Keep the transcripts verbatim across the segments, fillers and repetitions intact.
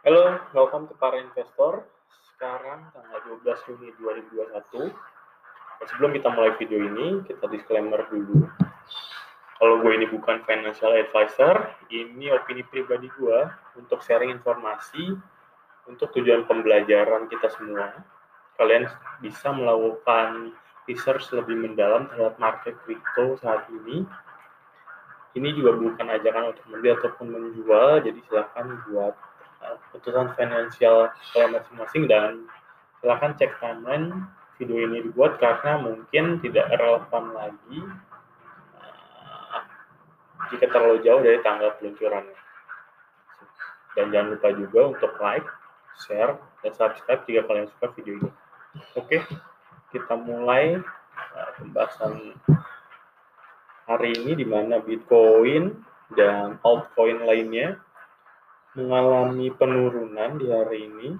Halo, welcome to para investor. Sekarang tanggal dua belas Juni dua ribu dua puluh satu. Dan sebelum kita mulai video ini, kita disclaimer dulu. Kalau gue ini bukan financial advisor, ini opini pribadi gue untuk sharing informasi untuk tujuan pembelajaran kita semua. Kalian bisa melakukan research lebih mendalam terhadap market crypto saat ini. Ini juga bukan ajakan untuk membeli ataupun menjual, jadi silakan buat keputusan finansial kalian masing-masing, dan silakan cek timeline video ini dibuat karena mungkin tidak relevan lagi uh, jika terlalu jauh dari tanggal peluncurannya. Dan jangan lupa juga untuk like, share, dan subscribe jika kalian suka video ini. Oke, kita mulai uh, pembahasan hari ini, di mana Bitcoin dan altcoin lainnya mengalami penurunan di hari ini.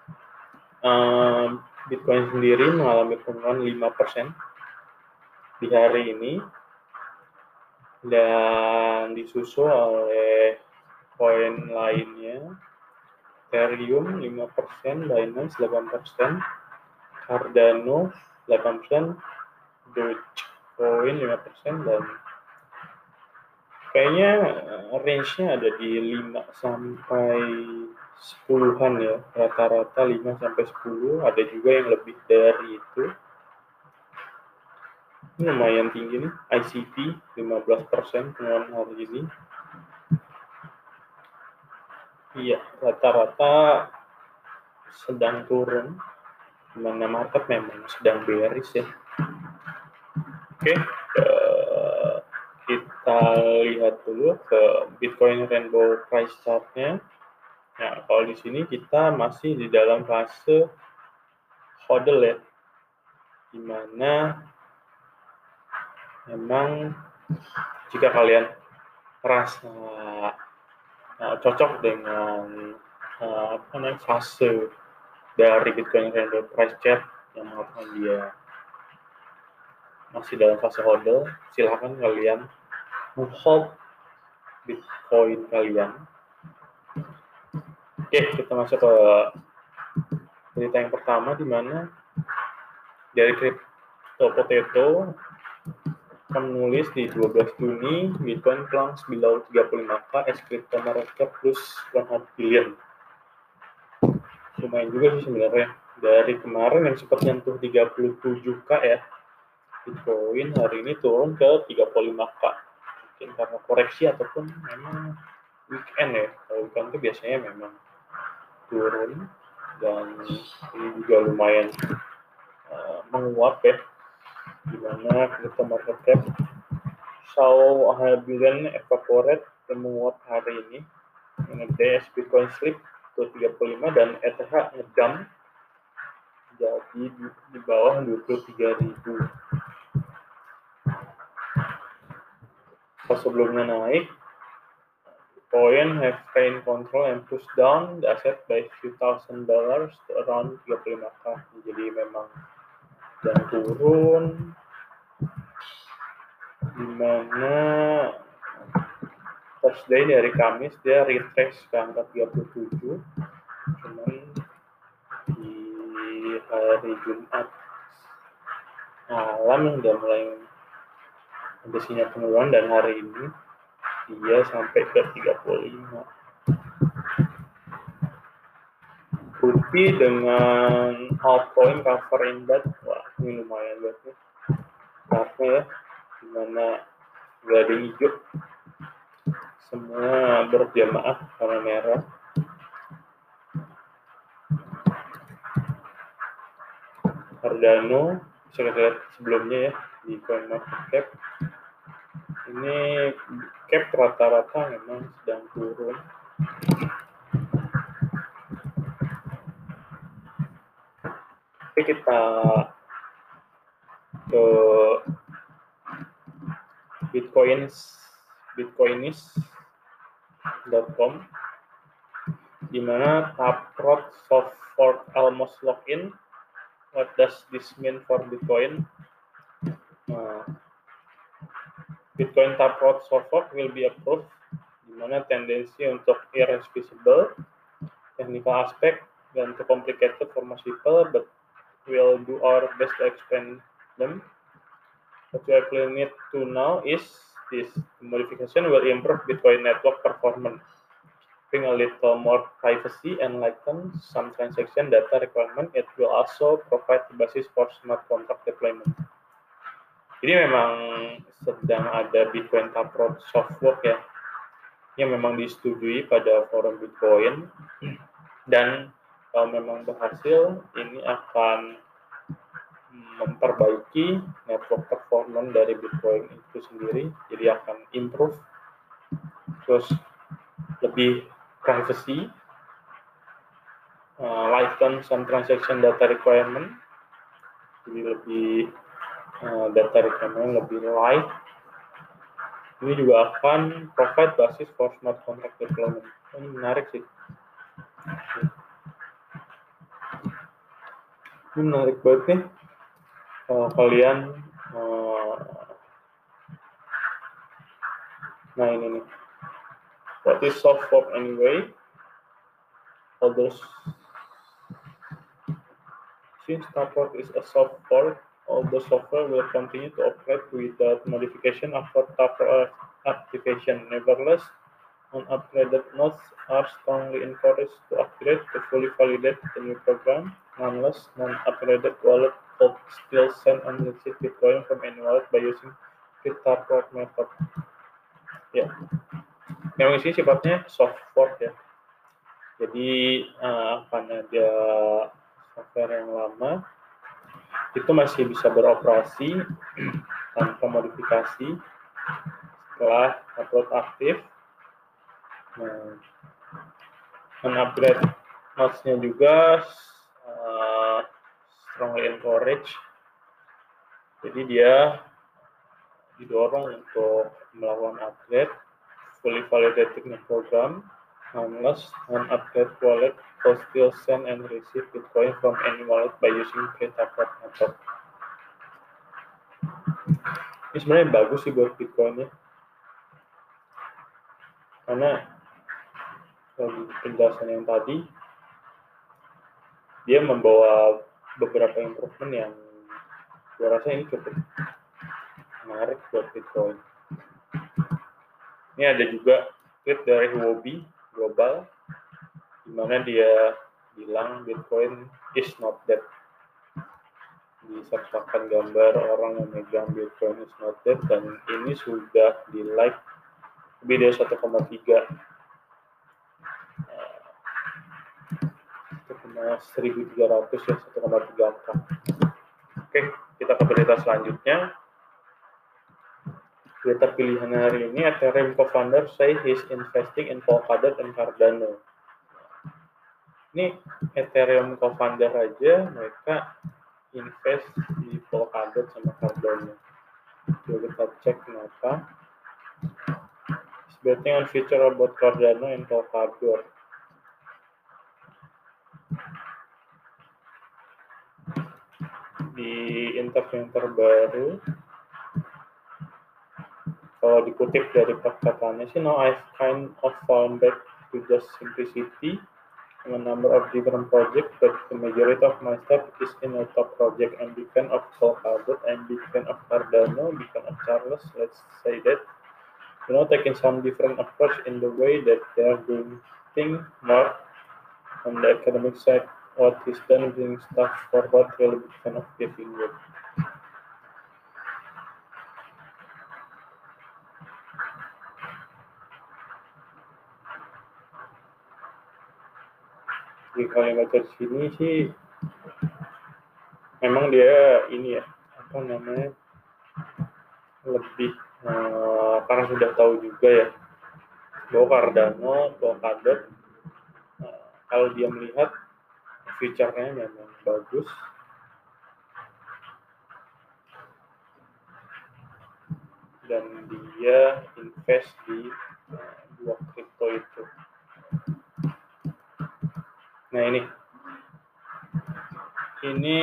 Um, Bitcoin sendiri mengalami penurunan lima persen di hari ini, dan disusul oleh koin lainnya, Ethereum lima persen, Binance delapan persen, Cardano delapan persen, Dogecoin lima persen, dan kayaknya range-nya ada di lima sampai sepuluhan ya, rata-rata lima sampai sepuluh, ada juga yang lebih dari itu. Ini lumayan tinggi nih, I C P lima belas persen penurunan hari ini. Iya, rata-rata sedang turun, dimana market memang sedang bearish ya. Oke, uh, kita lihat dulu ke Bitcoin Rainbow Price Chart-nya. Nah, kalau di sini kita masih di dalam fase hodl ya, dimana memang jika kalian merasa uh, cocok dengan uh, apa namanya fase dari Bitcoin Rainbow Price Chart yang mengatakan dia masih dalam fase hodl, silahkan kalian hold Bitcoin kalian. Oke, kita masuk ke berita yang pertama, di mana dari Crypto Potato menulis di dua belas Juni Bitcoin plunge below tiga puluh lima K as crypto market cap plus seratus billion. Lumayan juga sih sebenarnya, dari kemarin yang sempat nyentuh tiga puluh tujuh K ya, Bitcoin hari ini turun ke tiga puluh lima K. Mungkin karena koreksi ataupun memang weekend ya. Kalau weekend itu biasanya memang turun, dan ini juga lumayan uh, menguap ya, dimana crypto market cap saw one billion evaporate dan menguap hari ini. Nge-dash Bitcoin slip ke tiga puluh lima dan E T H ngedump jadi di, di bawah dua puluh tiga ribu. Pas sebelumnya naik, Bitcoin have gained control and pushed down the asset by few thousand dollars to around tiga puluh lima K. Jadi memang sedang turun, dimana Thursday dari Kamis dia retrace ke angka tiga puluh tujuh, cuman di hari Jumat malam udah mulai ada sinyal penurunan, dan hari ini dia sampai ke tiga puluh lima. Rupi dengan altcoin cover index, wah ini lumayan banget nih karena ya, dimana gak ada hijau, semua berjamaah warna merah. Cardano bisa kita lihat sebelumnya ya di CoinMarketCap, ini cap rata-rata memang sedang turun. Oke, kita ke Bitcoins bitcoinis dot com, di mana Taproot soft fork almost locked in. What does this mean for Bitcoin? Nah, Bitcoin Taproot soft fork will be approved, di mana tendensi untuk irreversible yang technical aspect dan too complicated for most people, but we'll do our best to explain them. What you actually need to know is this: modification will improve Bitcoin network performance, bring a little more privacy and lighten some transaction data requirement. It will also provide the basis for smart contract deployment. Jadi memang sedang ada Bitcoin Taproot software ya, yang memang disetujui pada forum Bitcoin, dan kalau memang berhasil, ini akan memperbaiki network performance dari Bitcoin itu sendiri, jadi akan improve, terus lebih privacy, uh, lighten some transaction data requirement, jadi lebih uh, data requirement lebih light. Ini juga akan provide basis for smart contract deployment. Ini menarik sih. Ini menarik banget nih. Kalau kalian, uh, nah ini nih. What is soft fork anyway? Others, since Taproot is a soft fork, all the software will continue to operate without modification after Taproot activation. Nevertheless, unupgraded nodes are strongly encouraged to upgrade to fully validate the new program. Nonetheless, non-upgraded wallet could still send and receive Bitcoin from any wallet by using the Taproot method. Ya, memang ini sifatnya soft fork ya. Jadi uh, akan ada software yang lama itu masih bisa beroperasi tanpa modifikasi setelah Taproot aktif. Nah, men-upgrade nodes-nya juga uh, strongly encourage. Jadi dia didorong untuk melakukan upgrade fully validated new program. Unless non-upgrade wallet will still send and receive Bitcoin from any wallet by using the Taproot method. Ini sebenarnya bagus sih buat Bitcoin-nya, karena dari penjelasan yang tadi dia membawa beberapa improvement yang gue rasa ini cukup menarik buat Bitcoin. Ini ada juga tweet dari Huobi Global, di mana dia bilang Bitcoin is not dead. Disertakan gambar orang yang megang Bitcoin is not dead, dan ini sudah di like lebih dari satu koma tiga seribu tiga ratus ya, satu koma tiga K. Oke, kita ke berita selanjutnya. Berita pilihan hari ini, Ethereum co-founder say he's investing in Polkadot and Cardano. Ini Ethereum co-founder aja mereka invest di Polkadot sama Cardano. Coba kita cek kenapa. He's betting on future about Cardano and Polkadot. Di interview yang terbaru, kalau dikutip dari perkataannya sih, now I've kind of found back to just simplicity in a number of different projects, but the majority of my stuff is in a top project. I'm big fan of Polkadot, I'm big fan of Cardano, big fan of Charles, let's say that. You know, taking some different approach in the way that they're doing things more on the academic side. What he's done doing stuff forward, really big fan of giving it. Di kalimat di sini sih memang dia ini ya, apa namanya, lebih uh, karena sudah tahu juga ya bahwa Cardano, Polkadot, uh, kalau dia melihat future-nya memang bagus, dan dia invest di uh, dua kripto itu. Nah ini, ini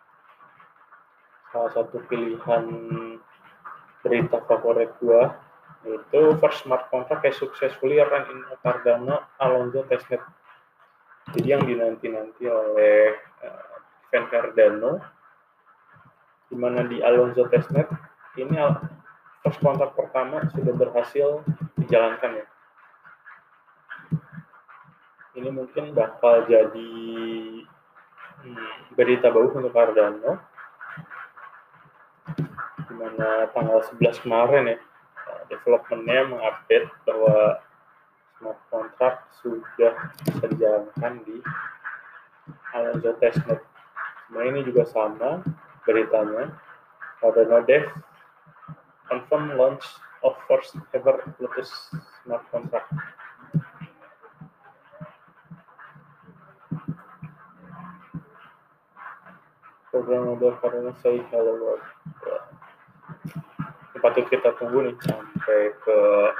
salah satu pilihan berita favorit gua yaitu first smart contract has successfully run in Cardano Alonzo testnet. Jadi yang dinanti-nanti oleh uh, event Cardano, di mana di Alonzo testnet ini first contract pertama sudah berhasil dijalankan ya. Ini mungkin bakal jadi hmm, berita bagus untuk Cardano, di mana tanggal sebelas kemarin ya, development-nya mengupdate bahwa smart contract sudah bisa dijalankan di Alonzo testnet. Nah ini juga sama beritanya, Cardano Dev confirm launch of first ever Lotus smart contract. Program model Cardano say hello world. Ini patut kita tunggu nih sampai ke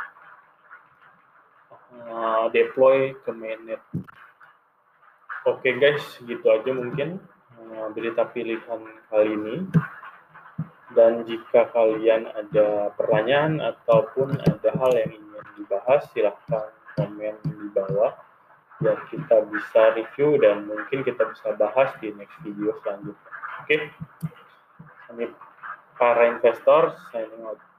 uh, deploy ke mainnet. Oke okay guys, gitu aja mungkin uh, berita pilihan kali ini. Dan jika kalian ada pertanyaan ataupun ada hal yang ingin dibahas, silahkan komen di bawah biar kita bisa review dan mungkin kita bisa bahas di next video selanjutnya. Oke, okay? Para investor, signing out.